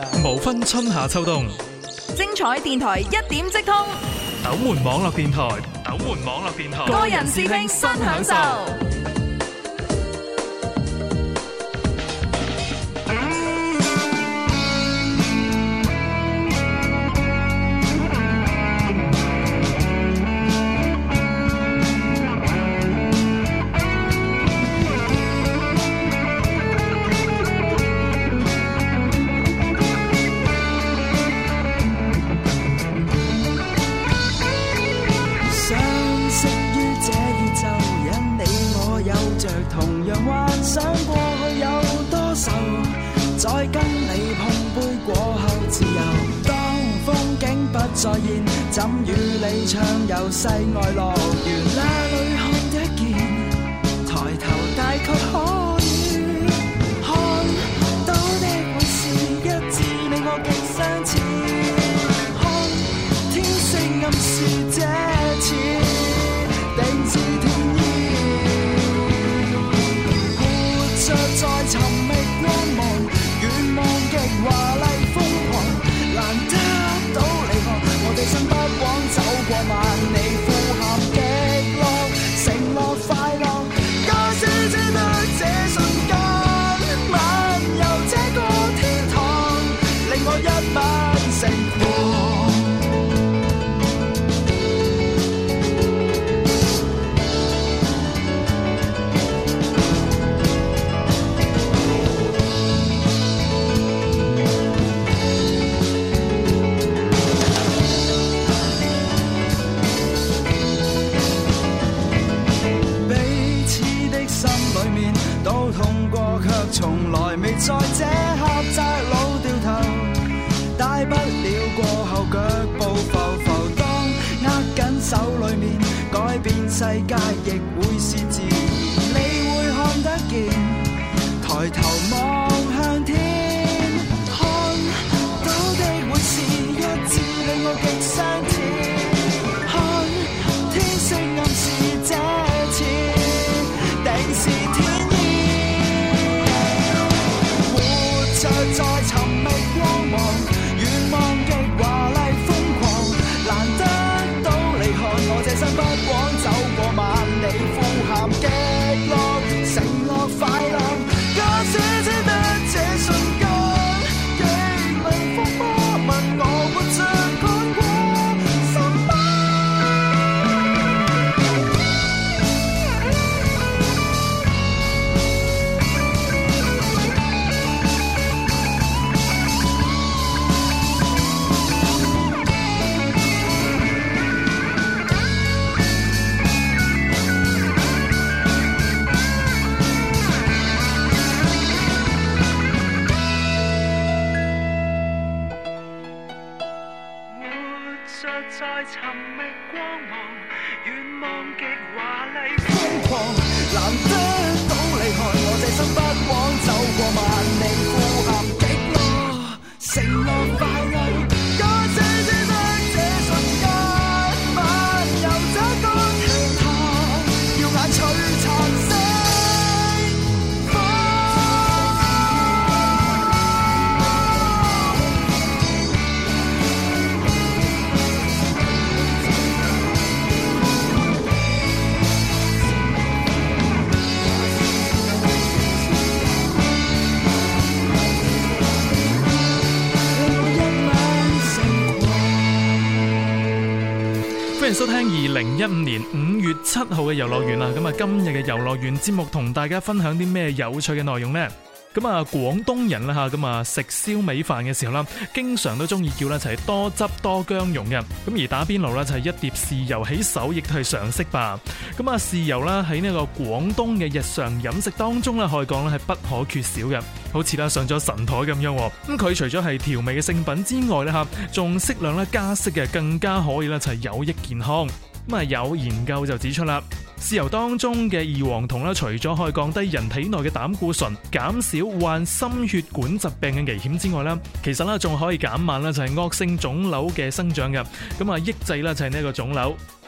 無分春夏秋冬， 精彩電台一點即通， 斗門網絡電台， 個人視聽新享受。 同樣幻想過去有多愁，再跟你碰杯過後自由。當風景不再現，怎與你暢遊世外樂園？哪裏看得見？抬頭大概可以看到的會是一致，你我極相似。看天色暗示這次定是天意。在尋覓光芒，願望極華麗瘋狂，難得到你看，我哋身不枉走過萬里呼喊極樂，承諾快樂，假使只得這瞬間，漫遊這個天堂，令我一晚成狂。從來未在這狹窄路掉頭，大不了過後腳步浮浮，當握緊手裏面改變世界亦會是自然，你會看得見，抬頭望向天，看到的會是一致，令我極相似，看天色暗示這次定是天意。在尋覓光芒，願望極華麗瘋狂，難得到你看，我這身不枉走過萬里呼喊極樂，承諾快樂，假使只得這瞬間，極能風波問我活着看過什麼？在尋覓光芒，願望極華麗瘋狂，難得到你看，我這身不枉走過萬里呼喊極樂，承諾快樂，假使只得這瞬間，漫遊這個天堂，耀眼璀璨星。 歡迎收聽2015年5月7號嘅遊樂園啦！咁啊，今日嘅遊樂園節目同大家分享啲咩有趣嘅內容呢？咁啊，廣東人啦吓，咁啊食燒味飯嘅時候啦，經常都中意叫咧就係多汁多薑蓉嘅。咁而打邊爐咧就係一碟豉油起手，亦都係常識吧。咁啊，豉油啦喺呢個廣東嘅日常飲食當中咧，可以講咧係不可缺少嘅。好似啦上咗神台咁樣。咁佢除咗係調味嘅聖品之外咧吓，仲適量咧加色嘅，更加可以咧就係有益健康。咁啊，有研究就指出啦，豉油當中嘅異黃酮咧，除咗可以降低人體內嘅膽固醇，減少患心血管疾病嘅危險之外咧，其實咧仲可以減慢咧就係惡性腫瘤嘅生長嘅，咁啊抑制咧就係呢個腫瘤。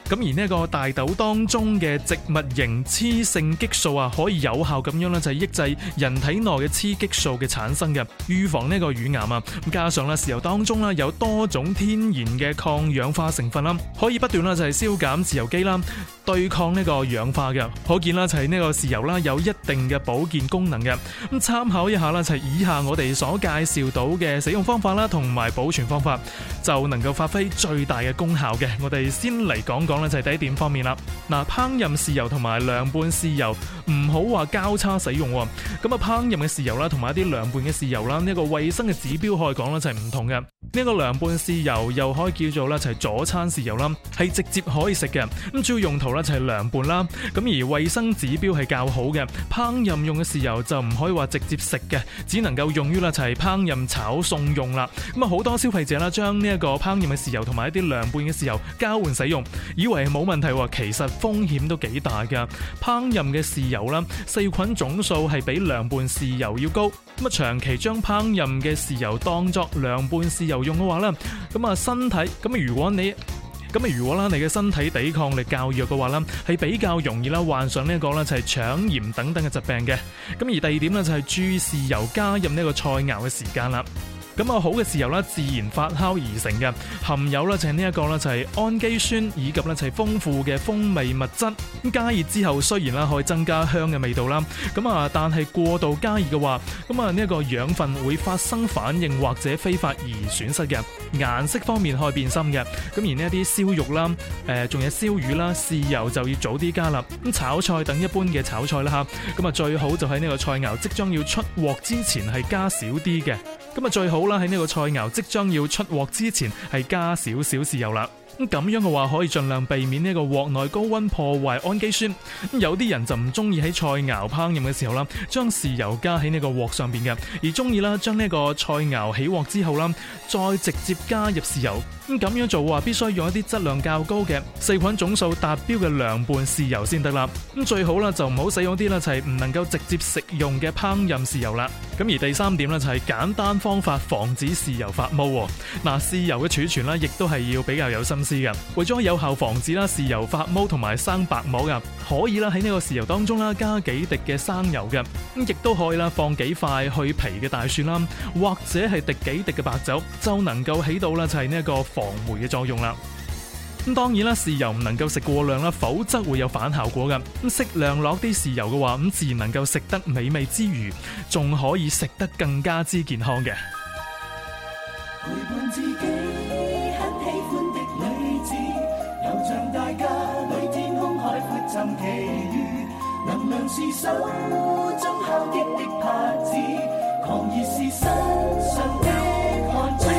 咁而呢個大豆當中嘅植物型雌性激素啊，可以有效咁樣咧就係抑制人體內嘅雌激素嘅產生嘅，預防呢個乳癌啊。咁加上咧，豉油當中咧有多種天然嘅抗氧化成分啦，可以不斷啦就係消減自由基啦，對抗呢個氧化嘅。可見啦就係呢個豉油啦有一定嘅保健功能嘅。咁參考一下啦，就係以下我哋所介紹到嘅使用方法啦，同埋保存方法，就能夠發揮最大嘅功效嘅。我哋先嚟講講咧就係第一點方面啦。嗱，烹飪豉油同埋涼拌豉油唔好話交叉使用。咁啊，烹飪嘅豉油啦，同埋一啲涼拌嘅豉油啦，呢個衛生嘅指標可以講咧就係唔同嘅。呢個涼拌豉油又可以叫做咧就係佐餐豉油啦，係直接可以食嘅。咁主要用途咧就係涼拌啦。咁而衛生指標係較好嘅。烹飪用嘅豉油就唔可以話直接食嘅，只能夠用於啦就係烹飪炒餸用啦。咁啊，好多消費者啦將呢一個烹飪嘅豉油同埋一啲涼拌嘅豉油交換使用，以為係冇問題，其實風險都幾大噶。烹飪嘅豉油啦，細菌總數係比涼拌豉油要高。咁啊，長期將烹飪嘅豉油當作涼拌豉油用嘅話咧，咁啊身體如果啦你嘅身體抵抗力較弱嘅話啦，係比較容易啦患上呢個啦就係腸炎等等嘅疾病嘅。咁而第二點咧就係注意豉油加入呢個菜肴嘅時間啦。咁啊，好嘅豉油啦，自然發酵而成嘅，含有啦就係呢一個啦就係氨基酸以及咧就係豐富嘅風味物質。咁加熱之後雖然啦可以增加香嘅味道啦，咁啊但係過度加熱嘅話，咁啊呢一個養分會發生反應或者揮發而損失嘅。顏色方面可以變深嘅。咁而呢一啲燒肉啦，仲有燒魚啦，豉油就要早啲加啦。咁炒菜等一般嘅炒菜啦吓，咁啊最好就喺呢個菜肴即將要出鑊之前係加少啲嘅。咁啊最好啦喺呢個菜肴即將要出鑊之前係加少少豉油啦。咁樣嘅話可以盡量避免呢個鑊內高溫破壞氨基酸。有啲人就唔中意喺菜肴烹飪嘅時候啦，將豉油加喺呢個鑊上邊嘅，而中意啦將呢個菜肴起鑊之後啦，再直接加入豉油。咁樣做話必須用一啲質量較高嘅細菌總數達標嘅涼拌豉油先得啦。咁最好啦就唔好使用啲啦就係唔能夠直接食用嘅烹飪豉油啦。咁而第三點咧就係簡單方法防止豉油發毛。嗱，豉油嘅儲存啦亦都係要比較有心思嘅。為咗有效防止啦豉油發毛同埋生白膜嘅，可以啦喺呢個豉油當中啦加幾滴嘅生油嘅。咁亦都可以啦放幾塊去皮嘅大蒜啦，或者係滴幾滴嘅白酒，就能夠起到啦就係呢一個防霉嘅作用啦。咁當然啦，豉油唔能夠食過量啦，否則會有反效果嘅。咁適量落啲豉油嘅話，咁自然能夠食得美味之餘，仲可以食得更加之健康嘅。 陪伴自己很喜歡的女子，遊像大家裏天空海闊尋奇遇，能量是手中敲擊的拍子，狂熱是身上的汗珠。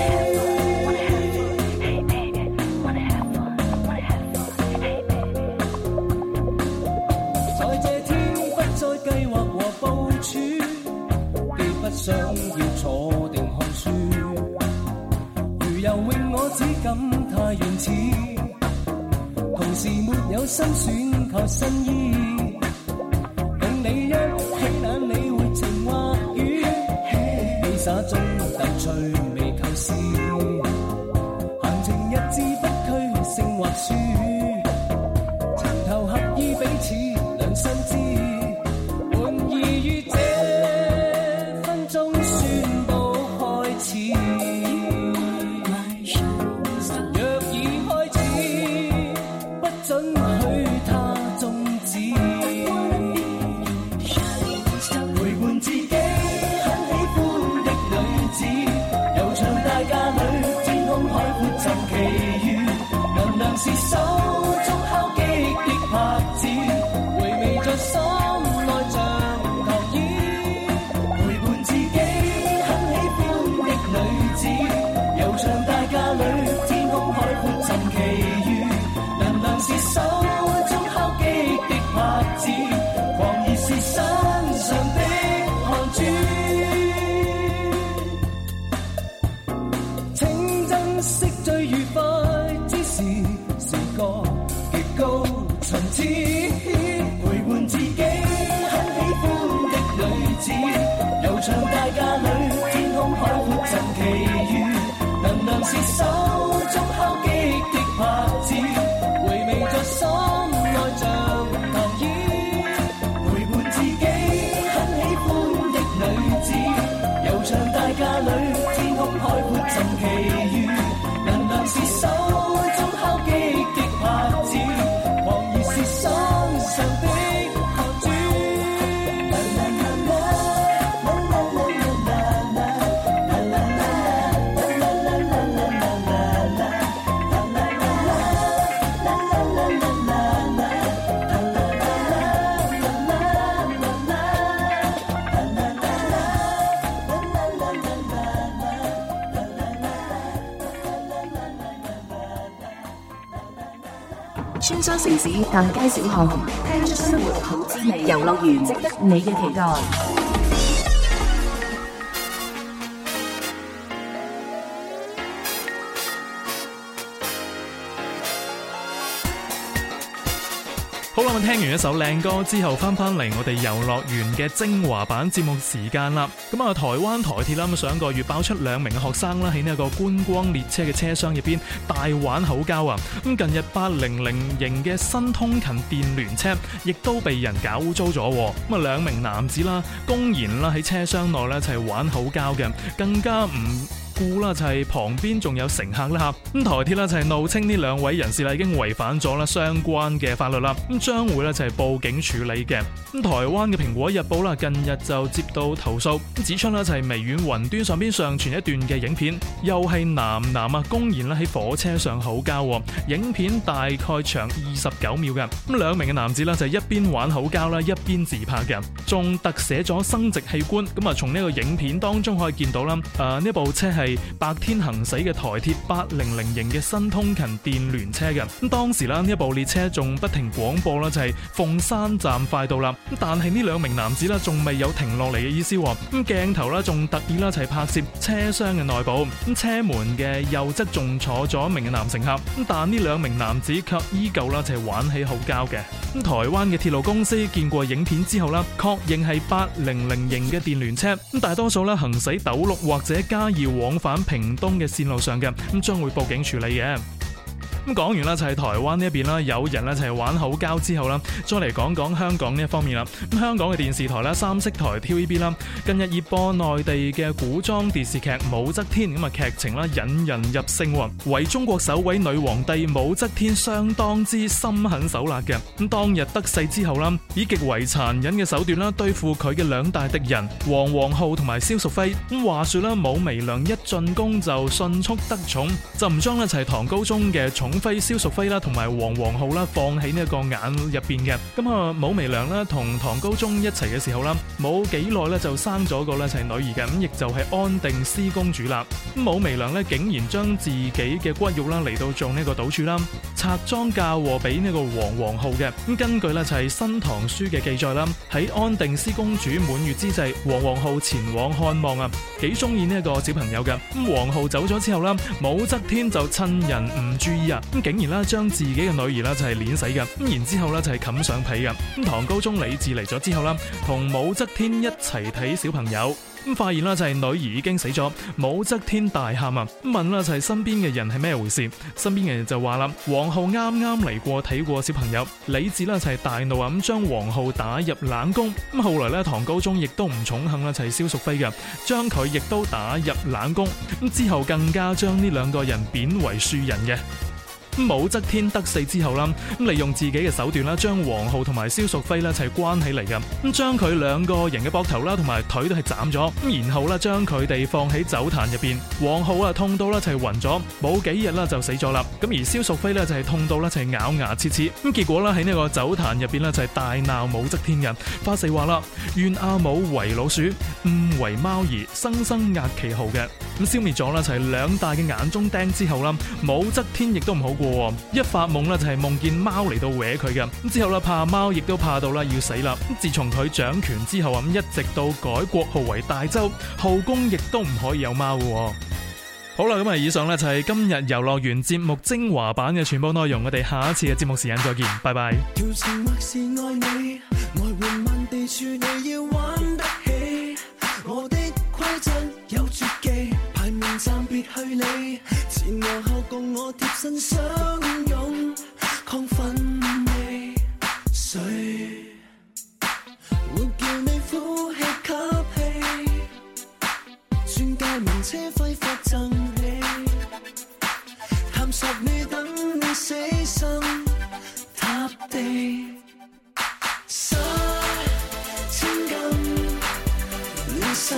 想要坐定看書，如游泳我只感太原始，同時沒有新選求新意，共你一起眼你會情或雨，戲灑中逗趣未構思，閒情逸致不拘勝或輸，情投合意彼此兩心知。是手中敲擊的拍子，回味在心內像投影，陪伴自己很喜歡的女子，遊長大架裏天空海闊尋奇遇，能量是手中敲擊的拍子，狂熱是身上的汗珠，請珍惜最愉快之時。 大架裏，天空海闊盡奇遇，能量是手中敲擊的拍子，狂熱是心上的學主。 穿梭城市大街小巷，聽出生活好滋味。遊樂園值得你嘅期待。 好啦，咁聽完一首靚歌之後，翻嚟我哋遊樂園嘅精華版節目時間啦。咁啊，台灣台鐵啦，咁上個月爆出2名嘅學生啦，喺呢一個觀光列車嘅車廂入邊大玩口交啊。咁近日800型嘅新通勤電聯車，亦都被人搞污糟咗。咁啊，2名男子啦，公然啦喺車廂內咧一齊玩口交嘅，更加唔顧啦，就係旁邊仲有乘客啦吓。咁台鐵啦就係怒稱呢2位人士啦已經違反咗啦相關嘅法律啦，咁將會咧就係報警處理嘅。咁台灣嘅蘋果日報啦近日就接到投訴，指出啦就係微軟雲端上邊上傳一段嘅影片，又係男啊公然啦喺火車上口交，影片大概長29秒嘅。咁2名嘅男子啦就係一邊玩口交啦一邊自拍嘅，仲特寫咗生殖器官。咁啊從呢個影片當中可以見到啦，呢部車係白天行駛嘅台鐵800型嘅新通勤電聯車嘅。咁當時啦呢一部列車仲不停廣播啦就係鳳山站快到啦。咁但係呢2名男子啦仲未有停落嚟嘅意思，咁鏡頭啦仲特意啦就係拍攝車廂嘅內部，咁車門嘅右側仲坐咗1名嘅男乘客，咁但呢2名男子卻依舊啦就係玩起口交嘅。咁台灣嘅鐵路公司見過影片之後啦，確認係800型嘅電聯車，咁大多數咧行駛斗六或者嘉義往返屏東嘅線路上嘅，咁將會報警處理嘅。咁講完啦，就係台灣呢一邊啦，有人咧就係玩口交之後啦，再嚟講講香港呢一方面啦。咁香港嘅電視台啦，三色台 TVB 啦，近日熱播內地嘅古裝電視劇《武則天》，咁啊劇情啦引人入勝，為中國首位女皇帝武則天相當之心狠手辣嘅。咁當日得勢之後啦，以極為殘忍嘅手段啦對付佢嘅2大敵人黃皇后同埋蕭淑妃。咁話說啦，武媚娘一進宮就迅速得寵，就唔將咧就係唐高宗嘅寵妃蕭淑妃啦，同埋黃皇后啦，放喺呢一個眼入邊嘅。咁啊，武媚娘啦同唐高宗一齊嘅時候啦，冇幾耐咧就生咗個咧就係女兒嘅，咁亦就係安定思公主啦。咁武媚娘咧竟然將自己嘅骨肉啦嚟到做呢個賭注啦，拆贓嫁禍俾呢個黃皇后嘅。咁根據咧就係《新唐書》嘅記載啦，喺安定思公主滿月之際，黃皇后前往看望啊，幾中意呢一個小朋友嘅。咁皇后走咗之後啦，武則天就趁人唔注意啊，咁竟然啦將自己嘅女兒啦就係碾死嘅。咁然之後咧就係冚上被嘅。咁唐高宗李治嚟咗之後啦，同武則天一齊睇小朋友。咁發現啦就係女兒已經死咗，武則天大喊啊！咁問啦就係身邊嘅人係咩回事？身邊嘅人就話啦，皇后啱啱嚟過睇過小朋友。李治啦就係大怒啊，咁將皇后打入冷宮。咁後來咧唐高宗亦都唔寵幸啦就係蕭淑妃嘅，將佢亦都打入冷宮。咁之後更加將呢2個人貶為庶人嘅。武則天得勢之後啦，咁利用自己嘅手段啦，將皇后同埋蕭淑妃啦一齊關起嚟嘅，咁將佢2個人嘅膊頭啦同埋腿都係斬咗，咁然後啦將佢哋放喺酒壇入邊。皇后啊痛到啦就係暈咗，冇幾日啦就死咗啦。咁而蕭淑妃咧就係痛到啦就係咬牙切齒，咁結果啦喺呢個酒壇入邊咧就係大鬧武則天嘅，發誓話啦願阿母為老鼠，誤為貓兒，生生壓其毫嘅。咁消滅咗啦就係2大嘅眼中釘之後啦，武則天亦都唔好過。一發夢啦就係夢見貓嚟到搲佢嘅，咁之後啦怕貓亦都怕到啦要死啦。咁自從佢掌權之後啊，咁一直到改國號為大周，後宮亦都唔可以有貓嘅。好啦，咁啊以上呢就係今日遊樂園節目精華版嘅全部內容，我哋下一次嘅節目時間再見，拜拜。 調情或是愛你，愛換萬地處你要玩得起，我的規則有絕技，排名暫別去理，前和後共我貼身相擁，亢奮味，誰會叫你呼氣吸氣，專界名車揮霍贈你，探索你等你死心塌地，殺千金亂心，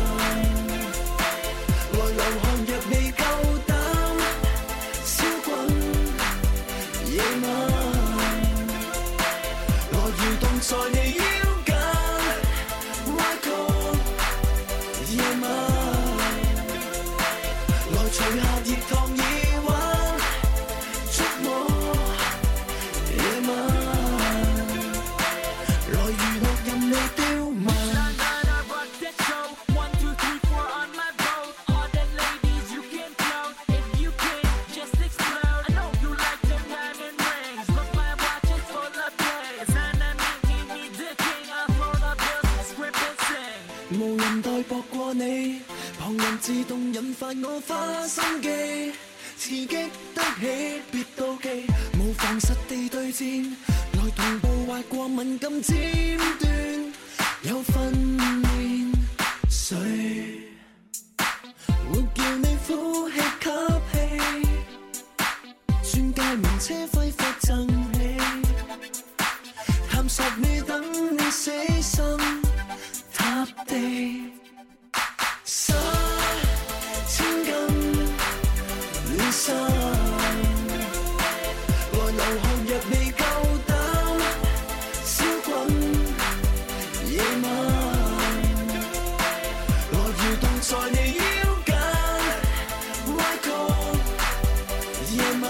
來流汗若未夠膽燒滾夜晚，來蠕動在你腰間歪曲夜晚，來除下熱燙耳環觸摸夜晚，來娛樂任你刁蠻。無人代薄過你，旁人自動引發我花心機，刺激得起別妒忌，無防實地對戰，來同步滑過敏感尖端，有訓練誰會叫你呼氣吸氣，鑽戒名車揮霍贈你，探索你等你死心塌地，殺千金亂心，來流汗若未夠膽燒滾夜晚，來蠕動在你腰間歪曲夜晚，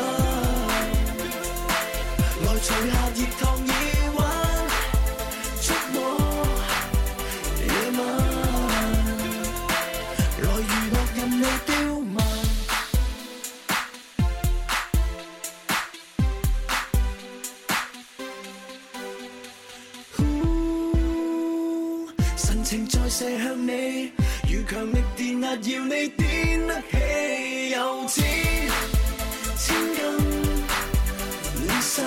來除下熱燙耳環觸摸夜晚，來娛樂任你刁蠻。神情再射向你，如強力電壓要你癲得起，有錢千金亂心，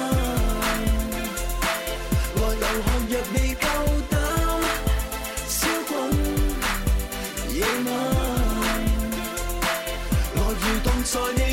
來流汗若未夠膽燒滾夜晚，來蠕動在你